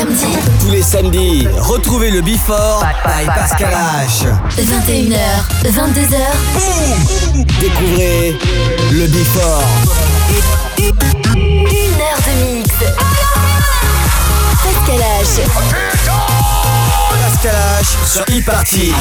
samedis. Tous les samedis, retrouvez le Before by Pascal H. 21h, 22h. Boum! Découvrez le Before. 1 heure de mix. Pascal H. Pascal H sur e-party.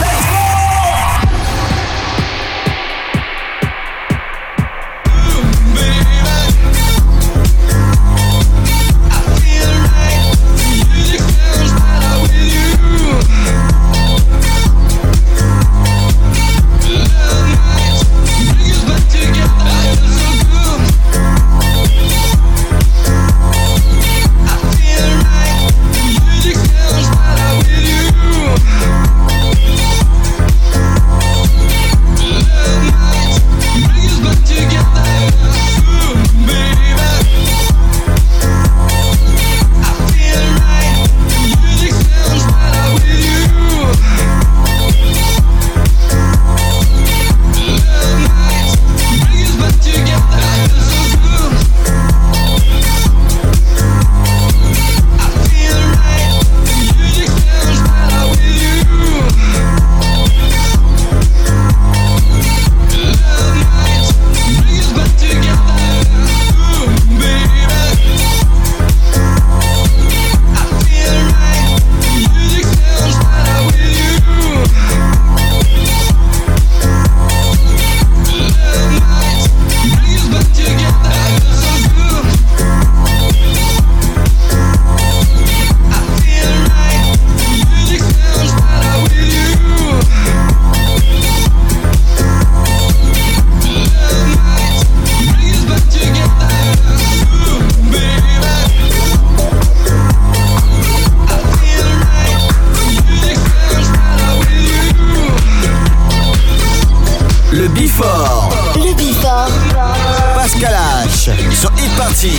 Le Before. Pascal H sur e-party.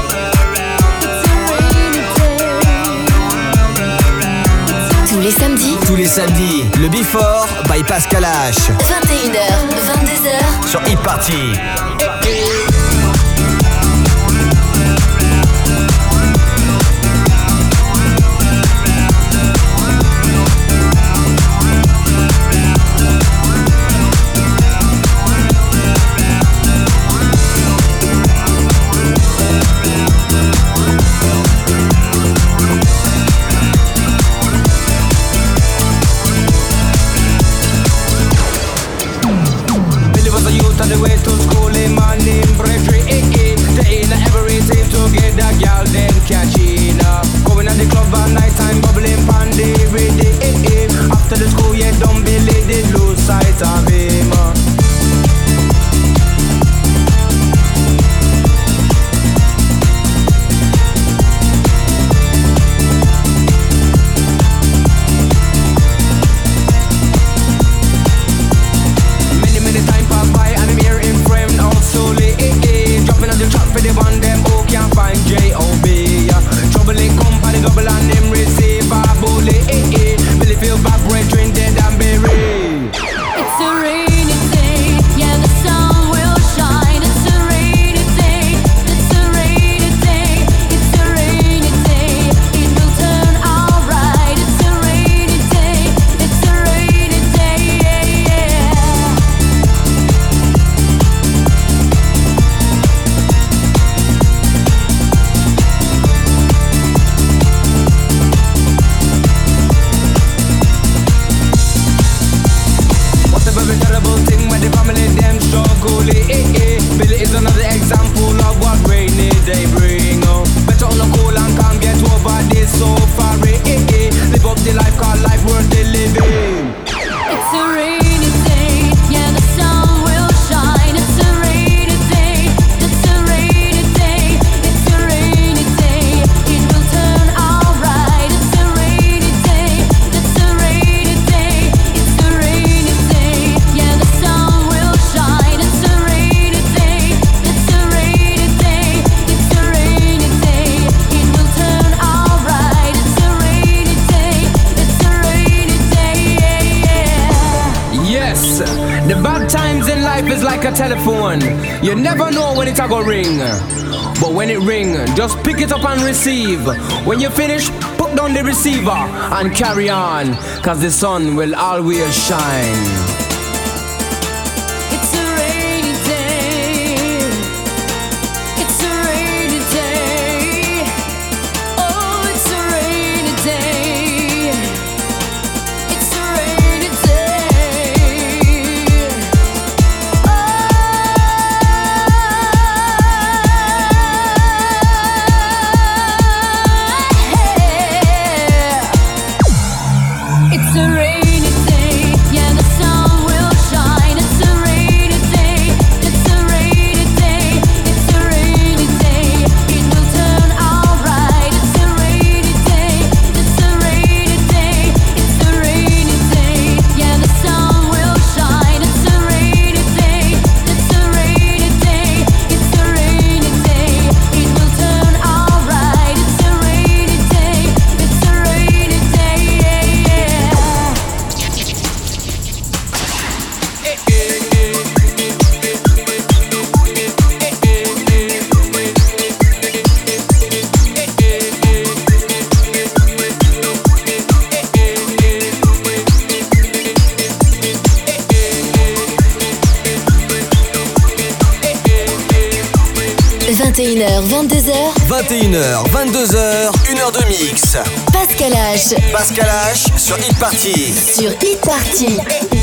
Tous les samedis, samedi, le Before by Pascal H. 21h, 22h. Sur Hit Party. The way to school in my name, Bredry, they in every team to get the girl, then catch in. Going at the club at night time, bubbling pandy, ready, after the school, yeah, don't believe they lose sight of him. For the one them who can't find J.O.B. Trouble it come for the double and them receive a bully. Billy feel bad, brethren dead and buried. It's a rainy day, yeah the sun will shine. It's a rainy day, it's a rainy day, it's a rainy day. It will turn alright. It's a rainy day, it's a rainy day, yeah. Very terrible thing when the family them struggle. Billy is another example of what rainy day bring. Better on the cool and calm, get over this so far. Live up the life, call life worth the living. It's a rainy day, yeah the sun will shine. It's a rainy day, it's a rainy day, it's a rainy day. It will turn alright. It's a rainy day, it's a rainy day, it's a rainy day. Yeah the sun will shine. It's a rainy day, it's a rainy day, it's a rainy day. It will turn alright. It's a rainy day, it's a rainy day, yeah. Yes, the bad times in life is like a telephone. You never know when it's a go ring. But when it ring, just pick it up and receive. When you finish, put down the receiver and carry on, cause the sun will always shine. It's a rainy day. It's a rainy day. Oh, it's a rainy day. It's a rainy day. It's a rainy day, yeah the sun will shine. It's a rainy day, it's a rainy day, it's a rainy day. It will turn alright. It's a rainy day, it's a rainy day, it's a rainy day. Yeah the sun will shine. It's a rainy day, it's a rainy day, it's a rainy day. It will turn alright. It's a rainy day, it's a rainy day, yeah. h 22h, 21h, 22h, 1h de mix. Pascal H. Pascal H sur Hit Party. Sur Hit Party.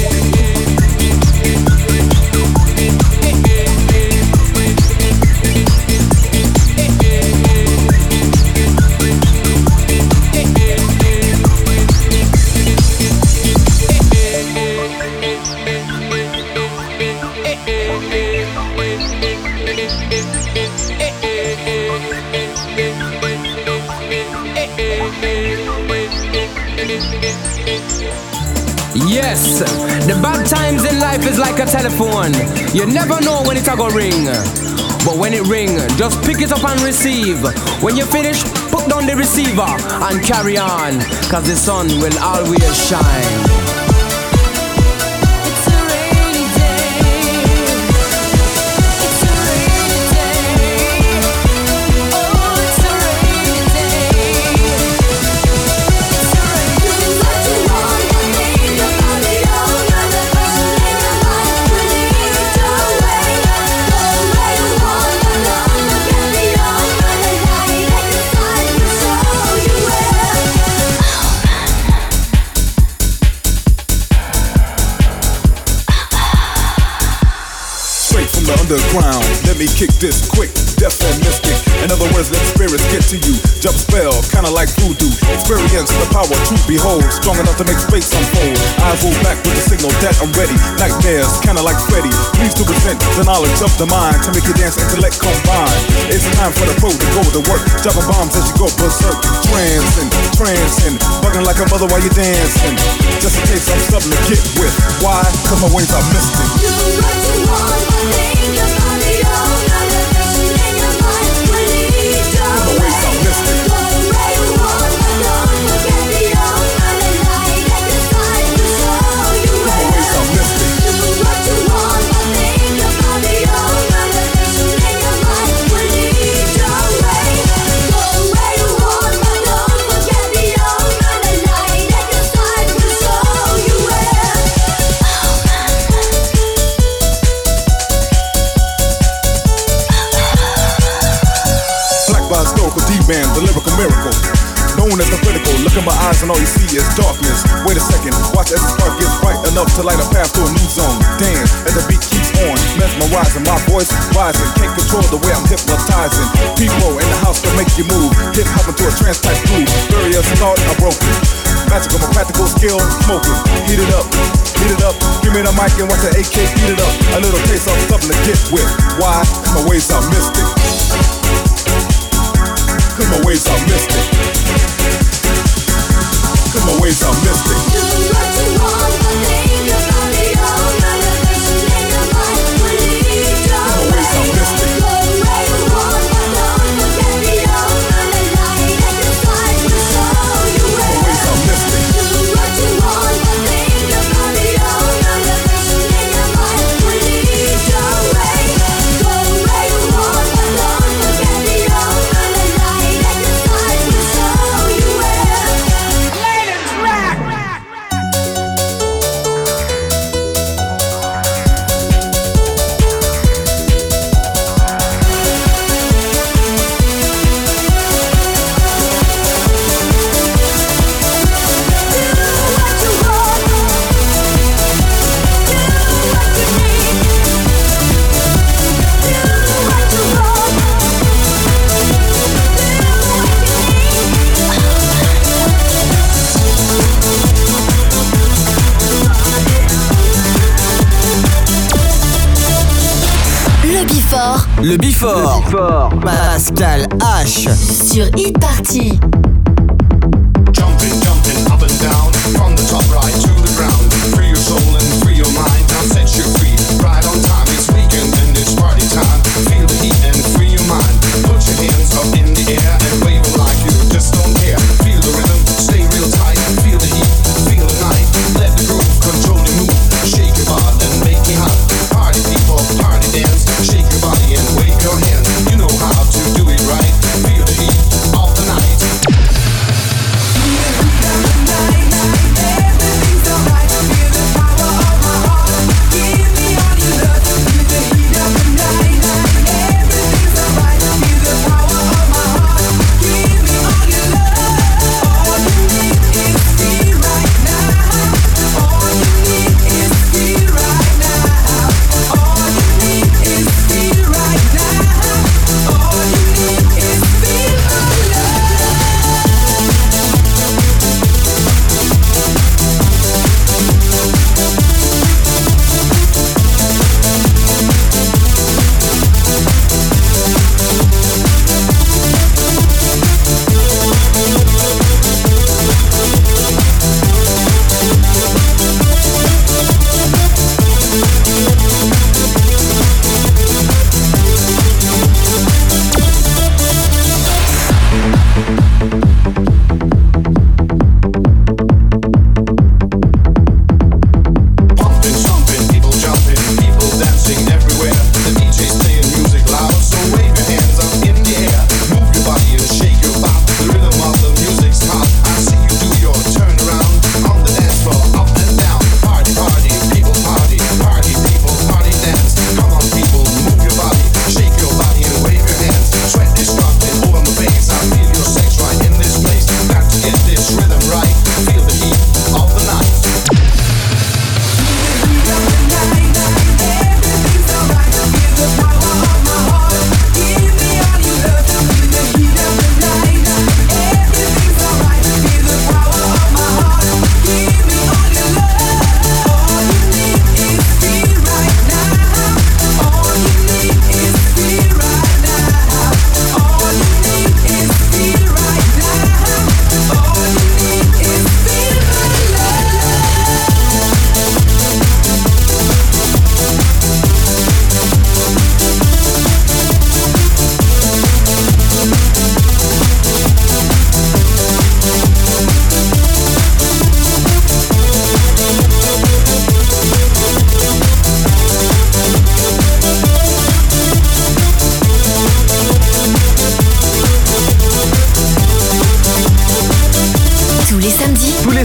Yes, the bad times in life is like a telephone. You never know when it's a go ring. But when it ring, just pick it up and receive. When you finish, put down the receiver and carry on, cause the sun will always shine. Underground, let me kick this quick, deaf and mystic. In other words, let spirits get to you. Jump spell, kinda like voodoo. Experience the power to behold, strong enough to make space unfold. Eyes roll back with the signal that I'm ready. Nightmares, kinda like Freddy. Please to present the knowledge of the mind to make your dance intellect combine. It's time for the pro to go to work. Dropping bombs as you go berserk. Trancing, bugging like a mother while you're dancing. Just in case I'm something to get with. Why? Cause my ways are mystic. You what you want, think about it all. Elevation in your mind will lead your way. Go where you want, but don't forget the old. The light at your side will show you where. Do what you want, think about it all. Elevation in your mind will lead your way. Go where you want, but don't forget the old. The light at your side will show you where. By historical D-man, the lyrical miracle, known as the critical. Look in my eyes and all you see is darkness. Wait a second, watch as the spark gets bright enough to light a path to a new zone. Dance as the beat keeps on, mesmerizing, my voice rising. Can't control the way I'm hypnotizing. People in the house to make you move. Hip hop into a trance type groove. Barriers thought are broken. Magical, my practical skill, smoking. Heat it up. Give me the mic and watch the AK beat it up. A little taste of something to get with. Why? Cause my ways are mystic. Cause my ways are mystic. Cause my ways are mystic. Do what you want, but think about it all. Elevation in your mind will lead your way. Go where you want, but don't forget the old. The light at your side will show you where. Do what you want, but think about it all. Elevation in your mind will lead your way. Go where you want, but don't forget the old. The light at your side will show you where. Let it rock! Le Before. Pascal H. Sur Hit Party. Jumping up and down, from the top right to the ground. Free your soul and free your mind, now set you free. Right on time, it's weekend and it's party time. Feel the heat and free your mind. Put your hands up in the air and wave it like you just don't care. Feel the rhythm, stay real tight. Feel the heat, feel the night. Let the groove control your move. Shake your body and make me hot. Party people, party dance. Shake your body and wave your hands. You know how to do it right. Feel the heat of the night.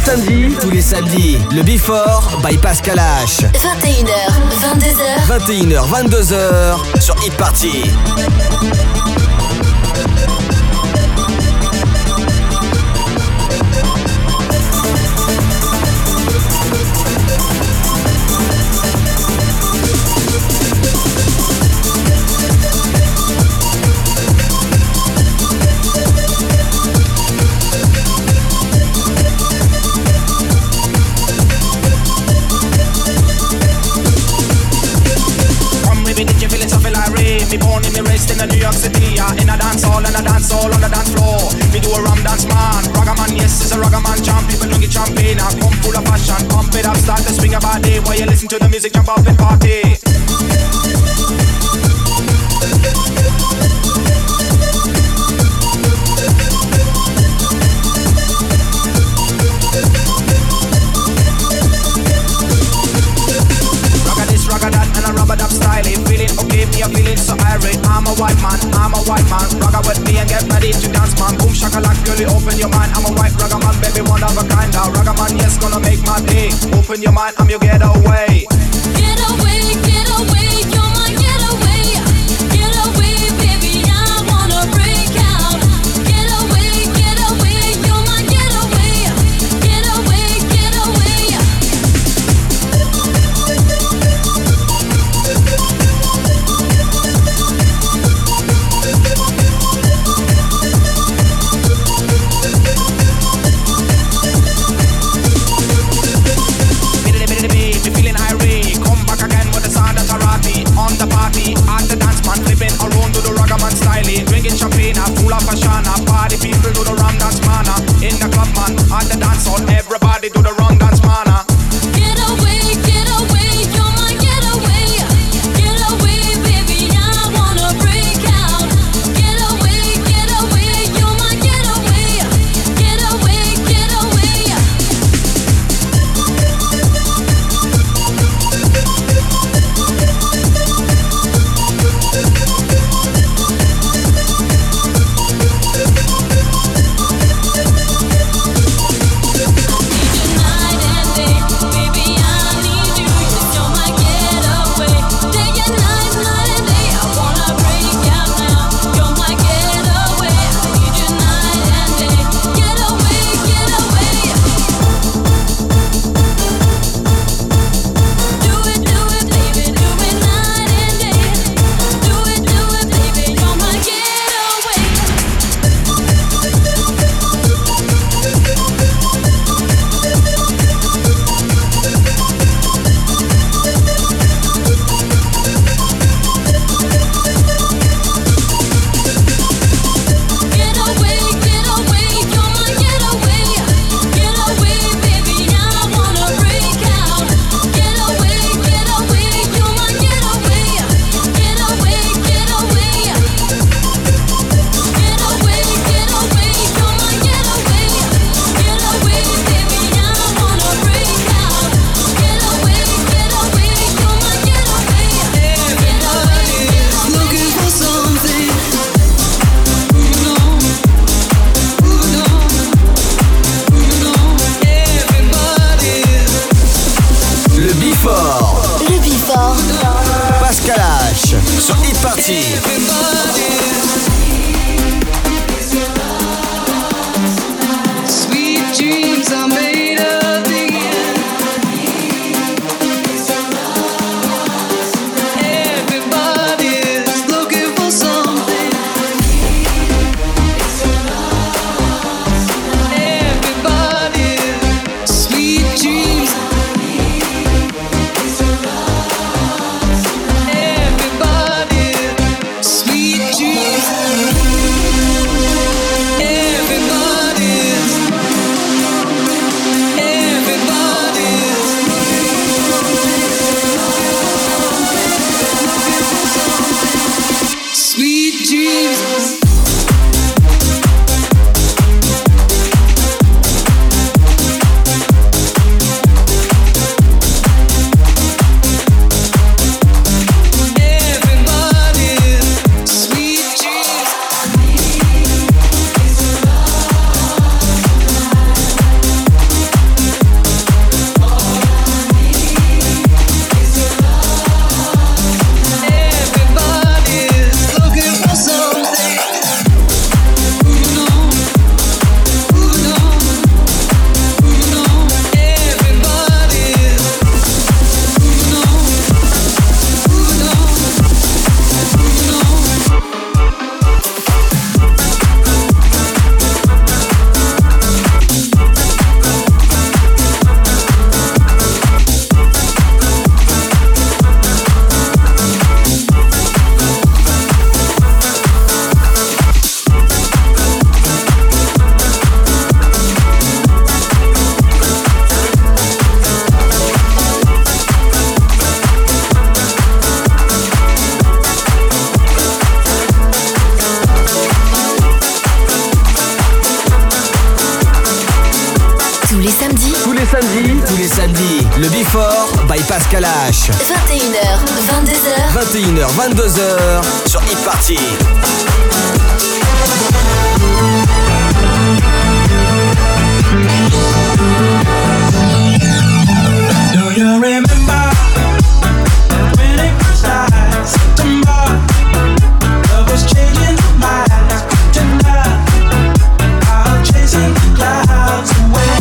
Tous les samedis, le Before by Pascal H. 21h, 22h. 21h, 22h sur Hit Party. Me born in me raised in New York City, in a dance hall and a dance hall on the dance floor. Me do a rum dance man, ragaman, yes, it's a ragaman jump. People drink it champagne, I come full of passion. Pump it up, start to swing your body while you listen to the music, jump up and party. Ragga that and a rubber dub style. Feeling okay, me a feeling so irate. I'm a white man. Ragga with me and get ready to dance, man. Boom shakalak, girlie, open your mind. I'm a white ragga man, baby, one of a kind. Now ragga man, yes, gonna make my day. Open your mind, I'm your getaway. Get away, you're my getaway. Get away, baby, I wanna break out. Get away, you're my getaway. Get away. On the party, at the dance man, flipping around to the ragaman style. Drinking champagne, full of passion. Party people do the rum dance man. In the club man, at the dance hall, everybody do the rum dance man. Get away, you're my getaway. Get away, baby, I wanna break out. Get away, you're my getaway. Get away. Sweet dreams. Tous les samedis, le Before by Pascal H. 21h, 22h. 21h, 22h sur Hit Party. Do you remember when it first started? September, love was changing the minds. Tonight, I'm chasing the clouds away.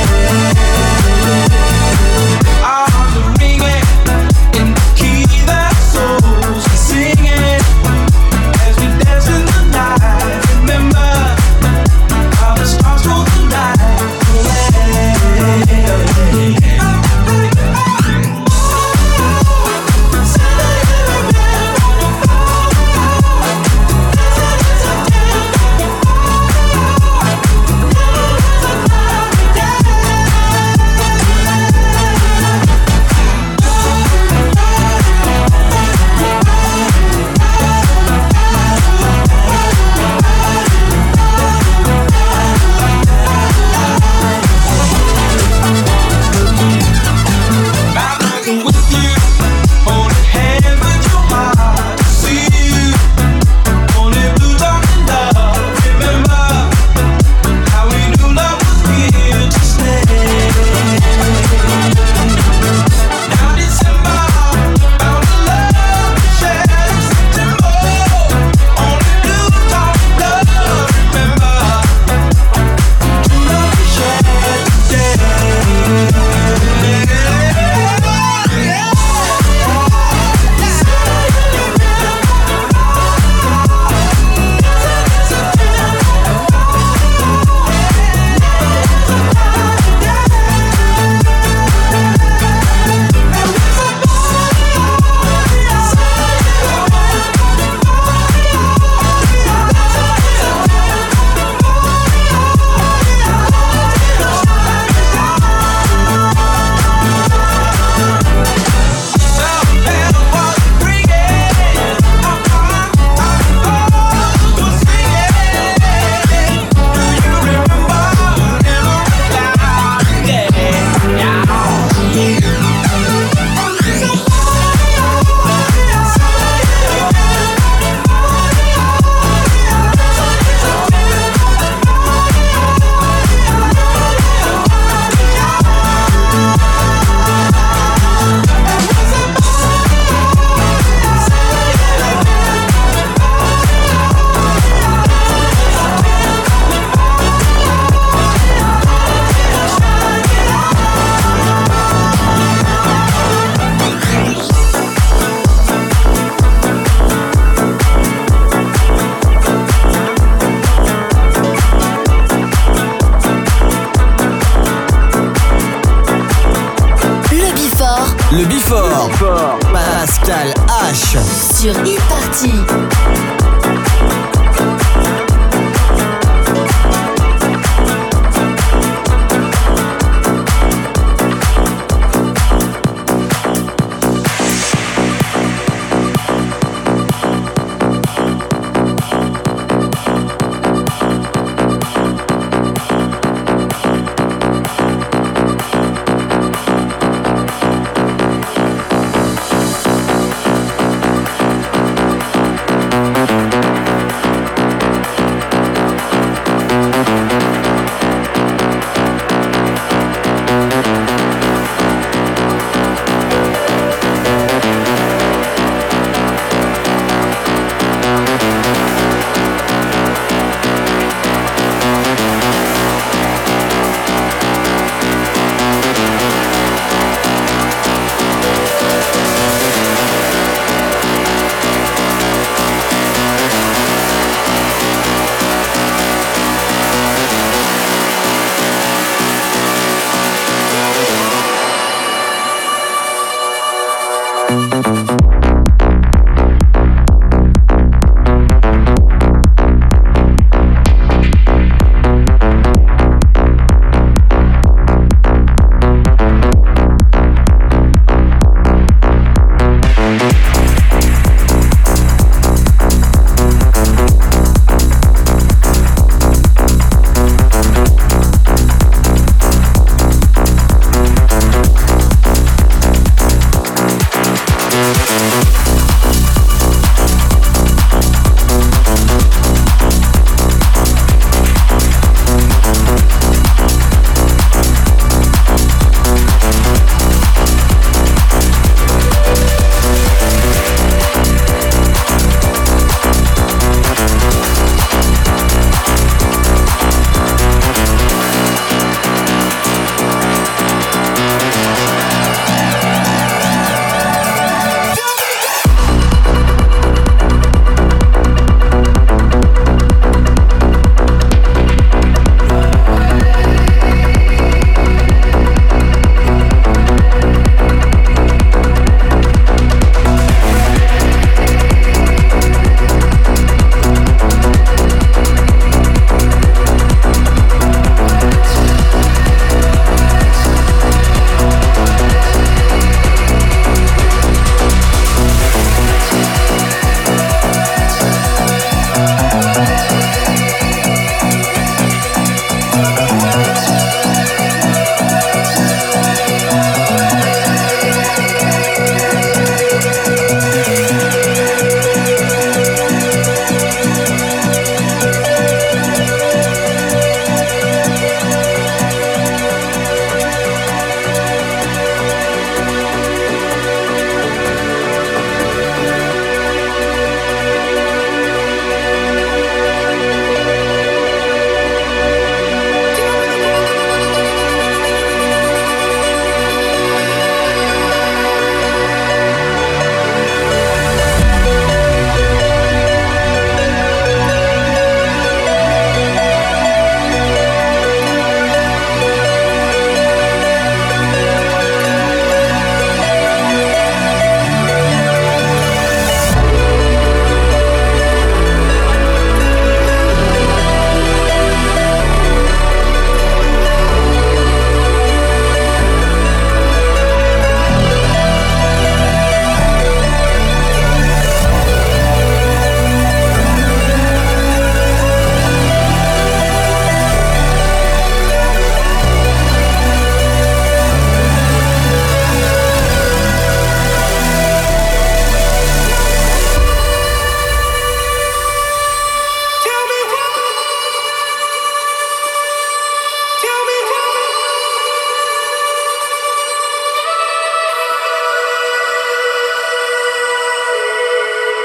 Arms are ringing in the key that souls are singing as we dance in the night. Remember how the stars told the night away. Le Before. Pascal H. Sur Hit Party.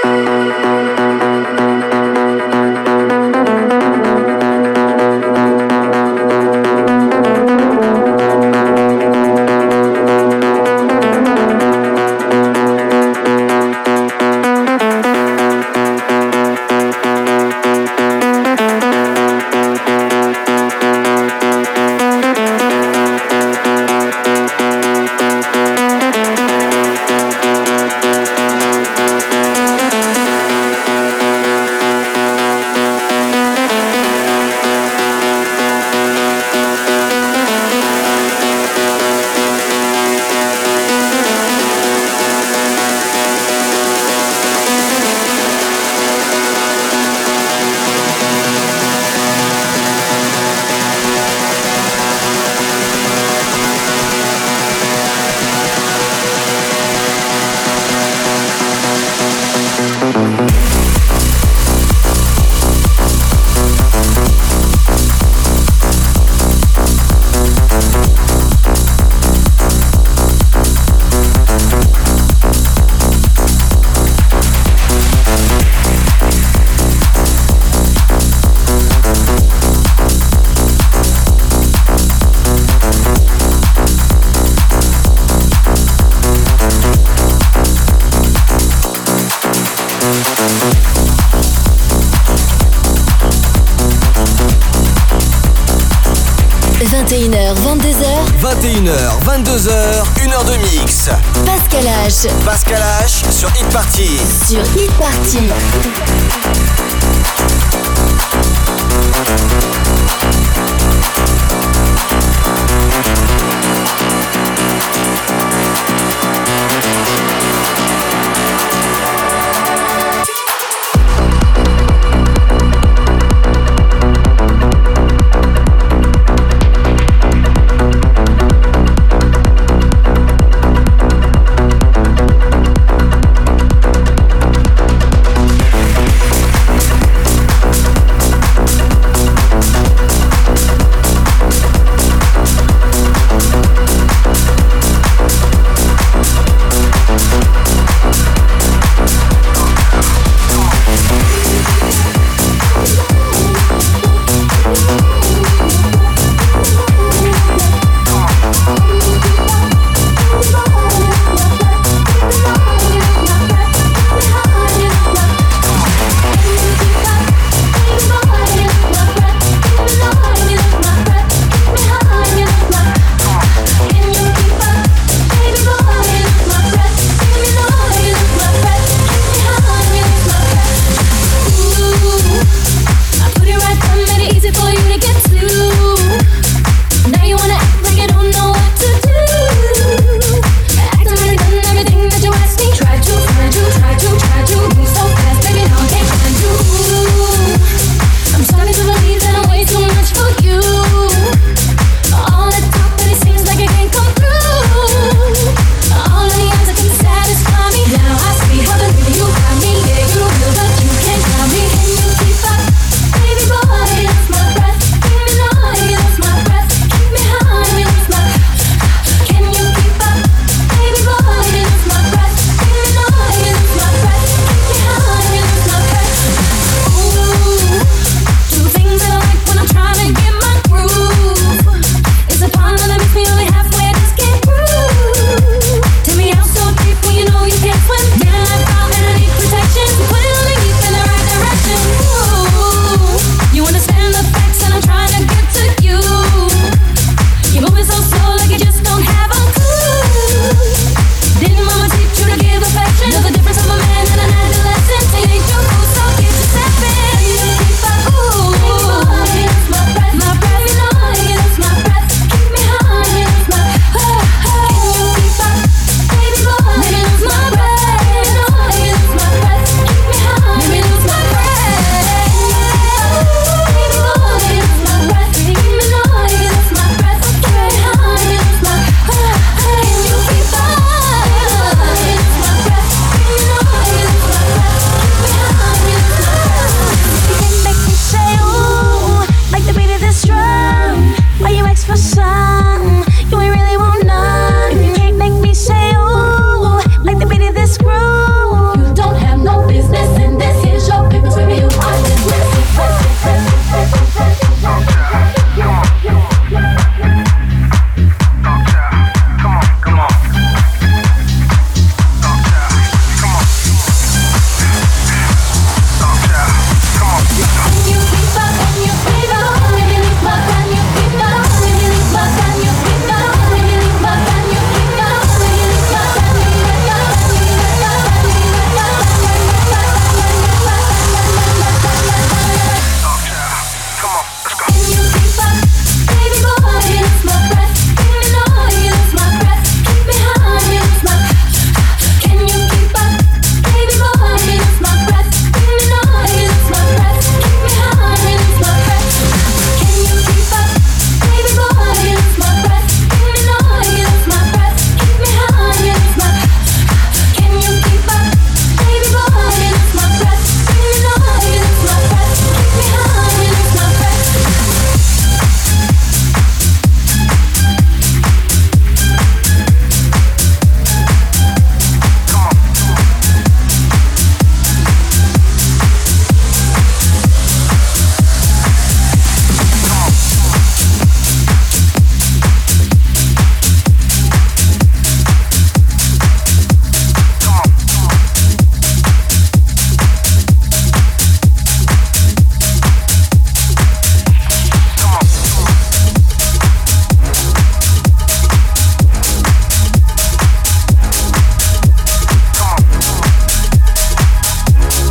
21h, 22h. 21h, 22h, 1h de mix. Pascal H. Pascal H sur Hit Party. Sur Hit Party.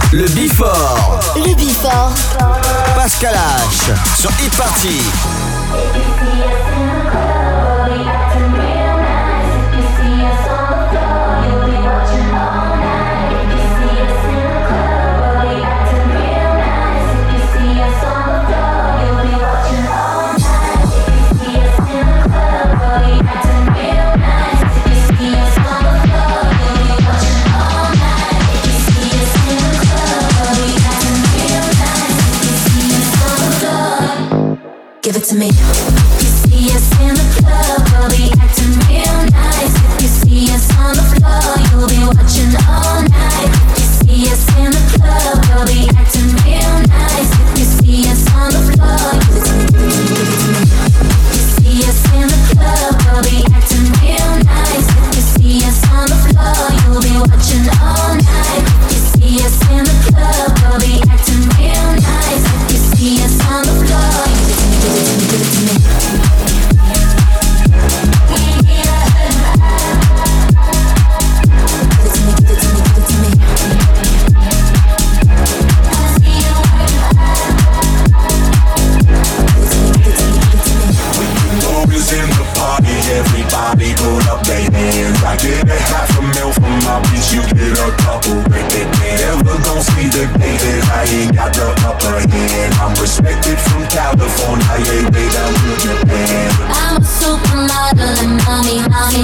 Le Before. Le Before. Pascal H sur Hit Party. Give it to me. If you see us in the club, we'll be acting real nice. If you see us on the floor, you'll be watching all night. If you see us in the club, we'll be acting real nice. If you see us on the floor, give it to me, give it to me. If you see us in the club, we'll be acting real nice. If you see us on the floor, you'll be watching all night. If you see us in the club, we'll be acting real nice. If you see us on the floor, give it to me. Everybody pull up their hands. I get a half a mil from my bitch, you get a couple. Never gon' see the day that I ain't got the upper hand. I'm respected from California, yeah, way down to Japan. I'm a supermodel and money.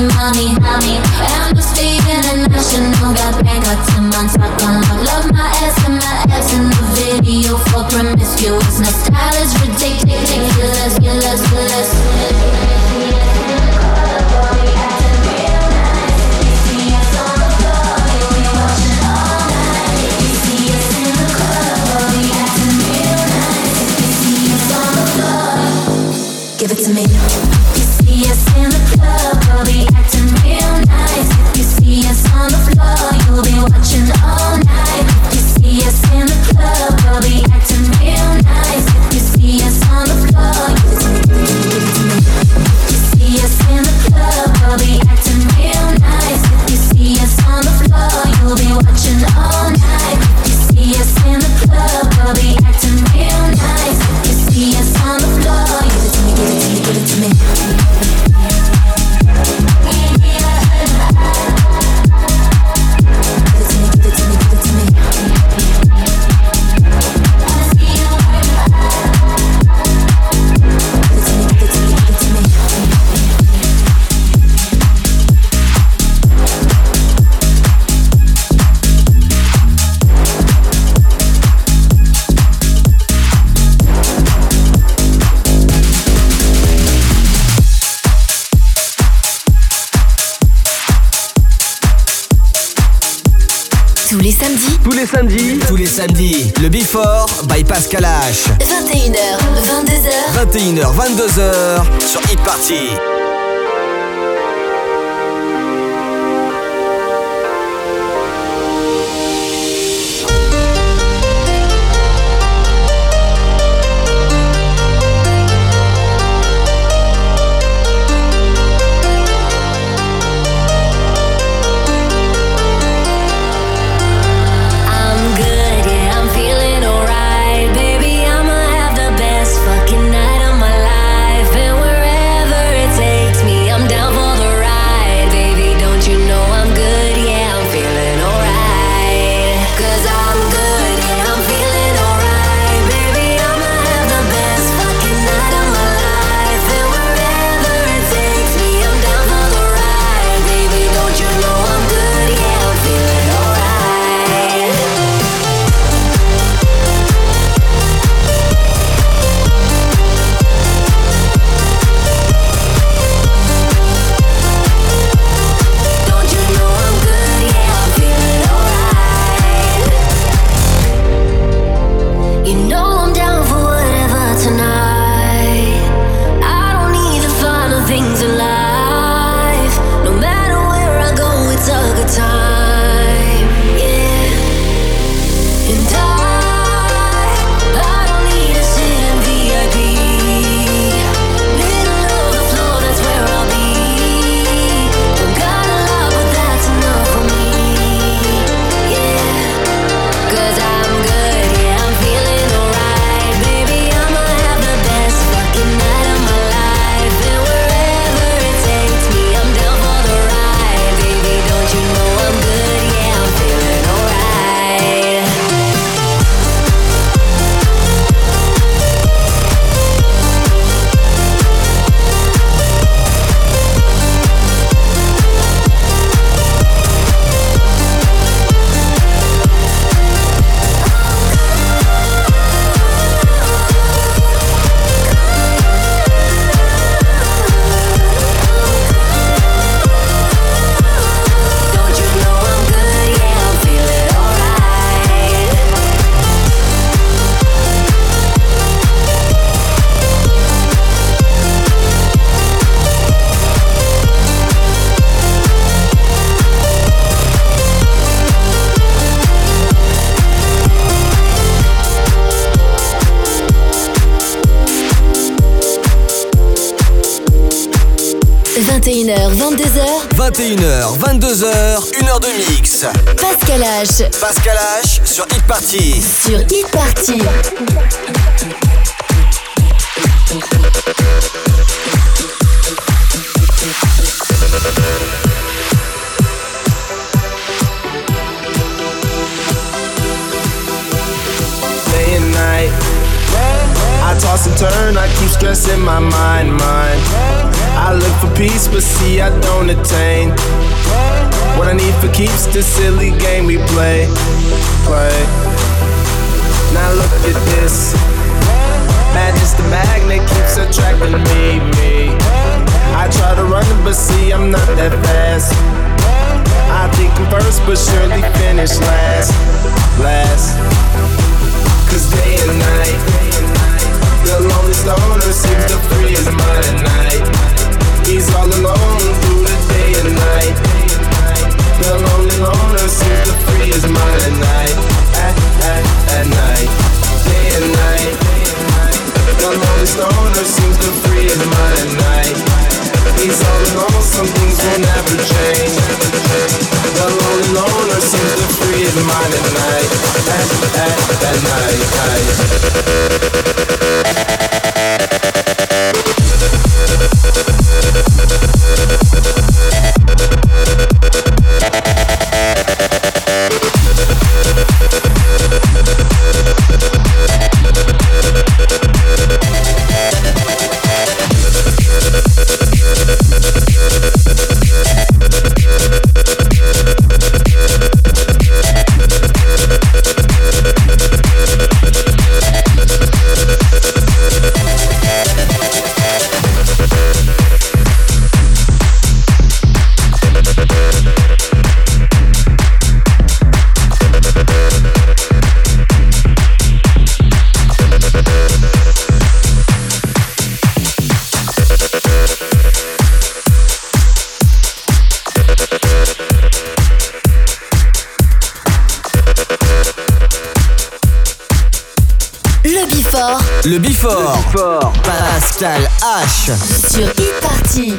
Amnesty International got Bangkok to Montauk. Love my ass and my abs in the video for promiscuous. My style is ridiculous, ridiculous. Give it to me. If you see us in the club, we'll be acting real nice. If you see us on the floor, you'll be watching all night. If you see us in the club, we'll be acting real nice. If you see us on the floor, give it to me, give it to me. If you see us in the club, we'll be acting real nice. If you see us on the floor, you'll be watching all night. If you see us in the club, we'll be acting real nice. If you see us on the floor, give it to me, give it to me. Tous les samedis, le Before by Pascal H. 21h, 22h. 21h, 22h sur Hit Party. Baby, I'ma have the best fucking night of my life. And wherever it takes 21h, 22h. 21h, 22h, 1h de mix. Pascal H. Pascal H sur Hit Party. Sur Hit Party. Day and night, I toss and turn, I keep stressing my mind. I look for peace, but see I don't attain. What I need for keeps the silly game we play. Now look at this, madness the magnet keeps attracting me. I try to run but see I'm not that fast. I think I'm first but surely finish last. Cause day and night, the lonely stoner seems to free his mind at night. He's all alone through the day and night. The lonely loner seems to free his mind at night. At night, day and night. The lonely stoner seems to free his mind at night. He's all alone, some things will never change. The lonely loner seems to free his mind at night. At night. Le Before. Pascal H. Sur Hit Party.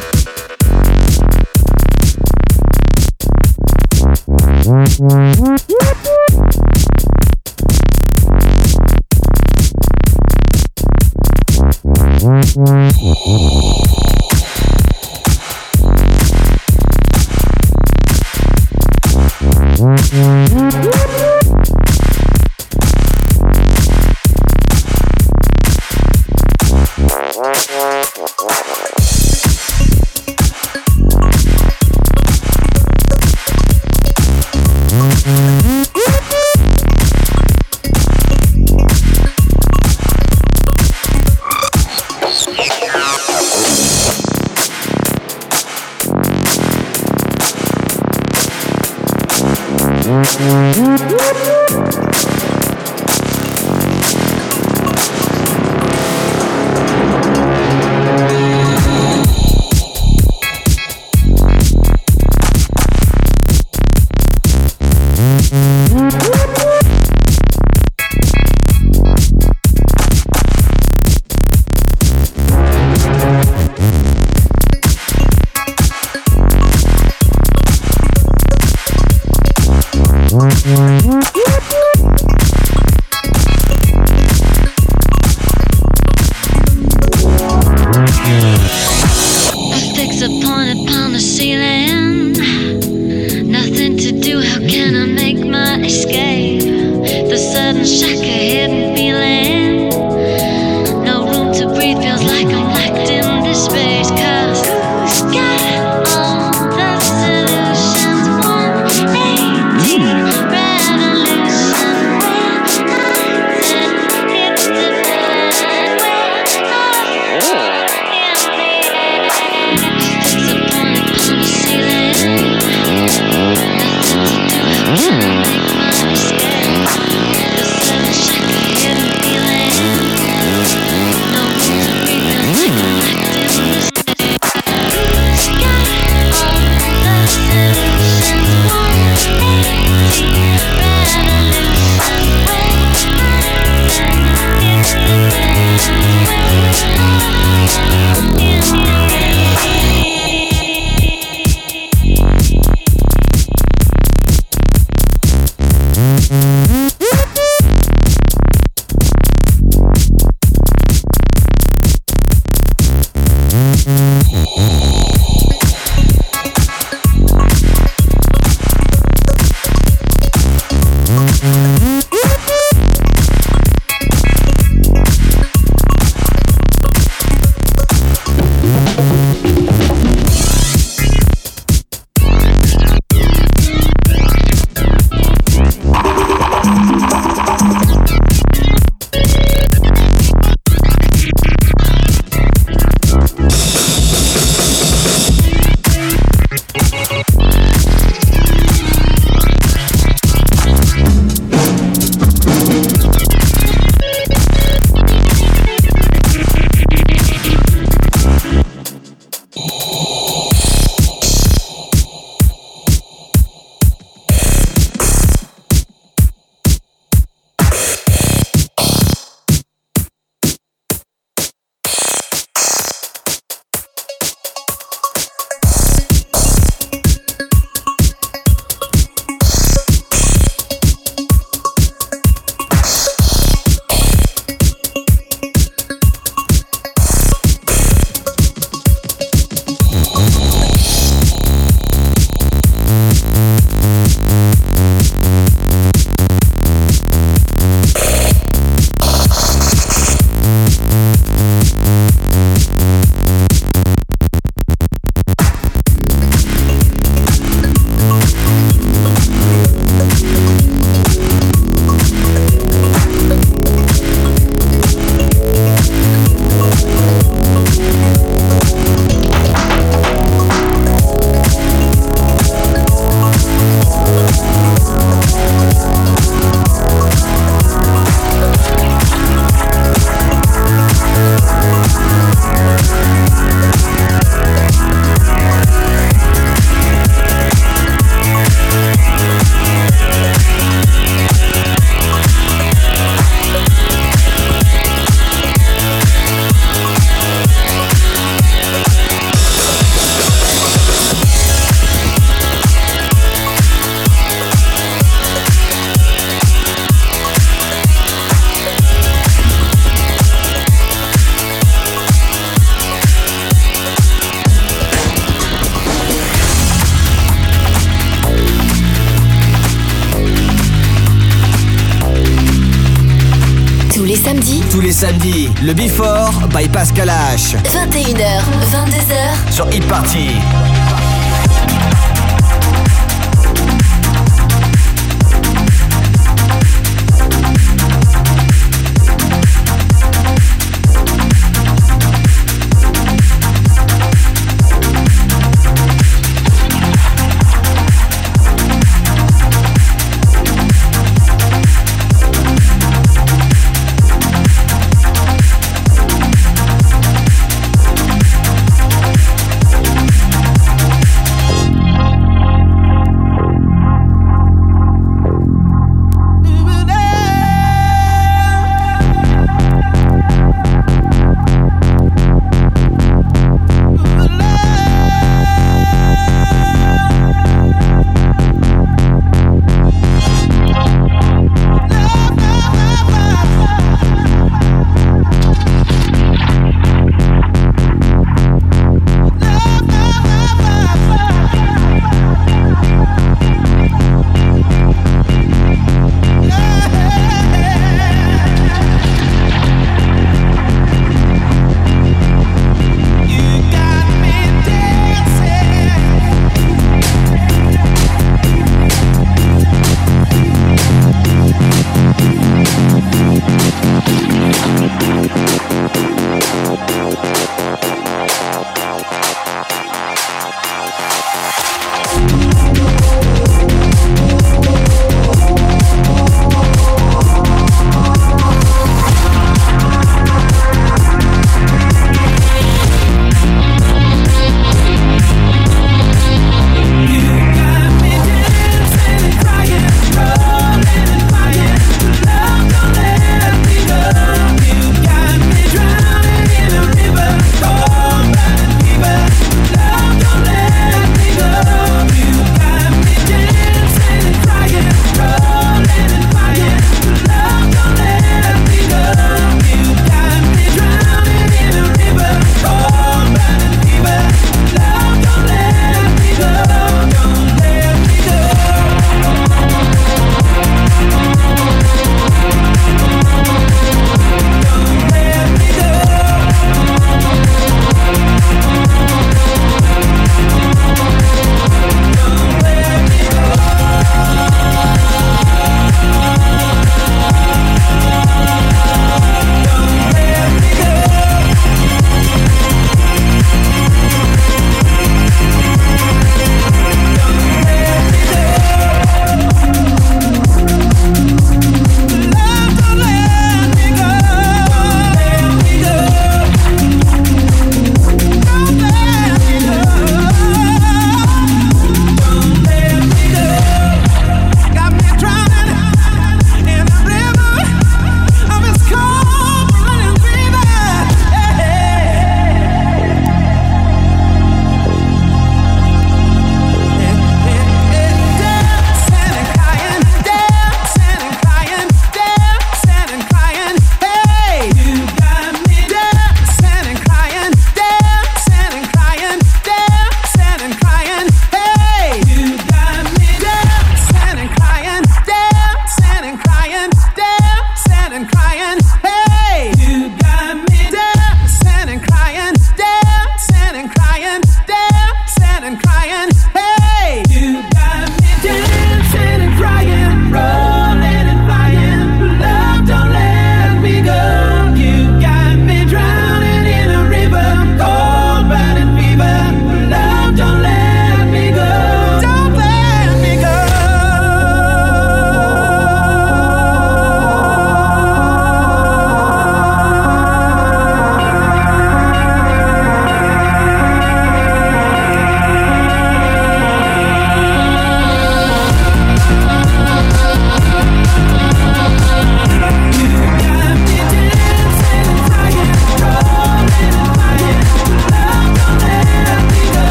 Tous les samedis. Tous les samedis, le Before by Pascal H. 21h, 22h. Sur Hit Party.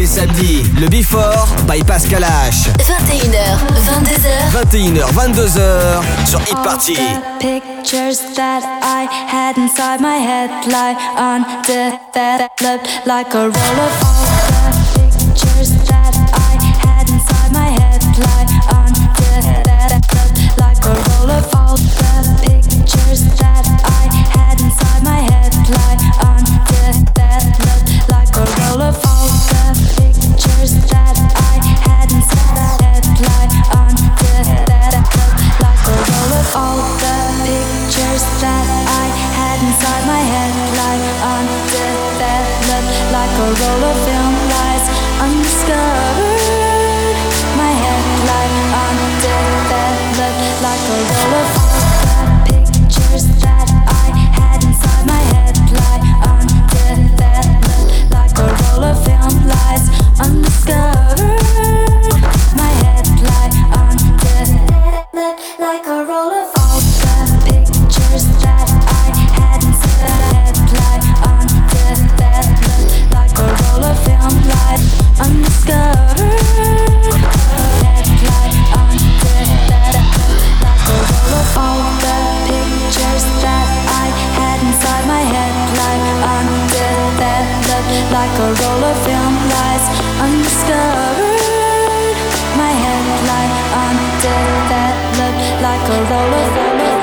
samedi, le Before by Pascal H. 21h, 22h. 21h, 22h sur Hit Party. Pictures that I had inside my head lie undeveloped like a roll of all the pictures that I had inside my head lie undeveloped like a roll of all the pictures that I had inside my head lie undeveloped like a roll of all the pictures that I had inside my head lie undeveloped like a roll of all the pictures that I had inside my head lie undeveloped like a roll of film lies undiscovered. My head lie undeveloped like a roll of all the pictures that I had inside my head lie undeveloped like a roll of film lies undiscovered. My head lie undeveloped like a roll of all the pictures that I had inside my head lie undeveloped like a roll of film lies undiscovered. Head lie undeveloped like a roll of all the pictures that I had inside my head lie undeveloped like a roll of film lies undiscovered. My head lie undeveloped like a roll of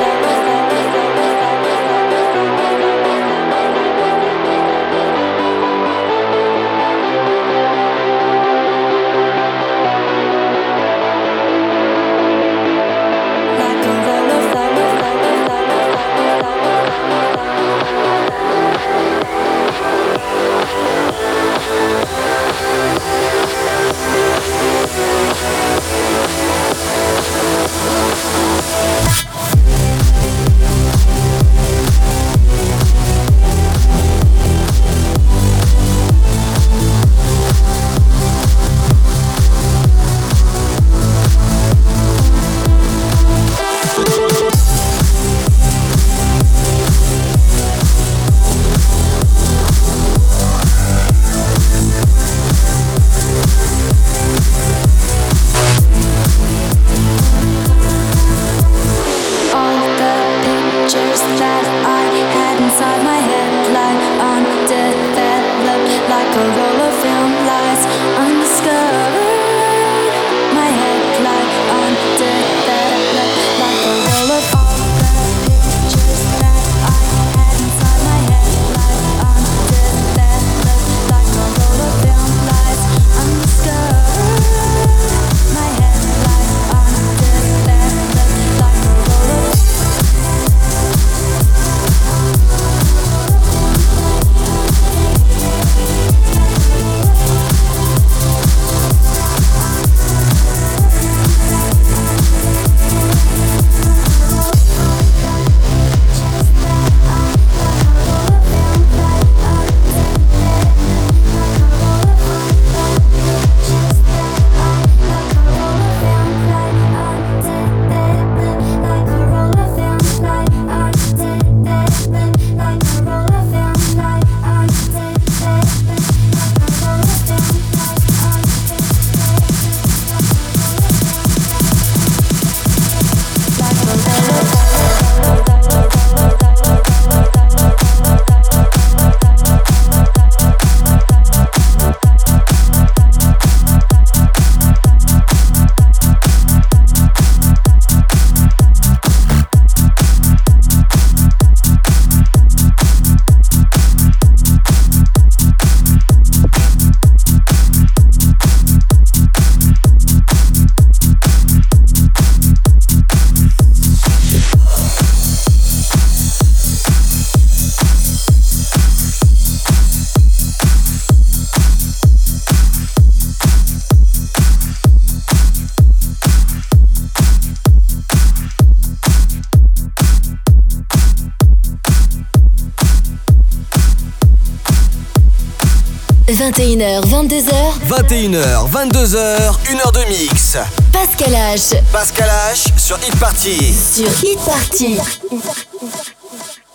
« 21h, 22h. 21h, 22h, 1h de mix. Pascal H. Pascal H sur Hit Party. Sur Hit Party.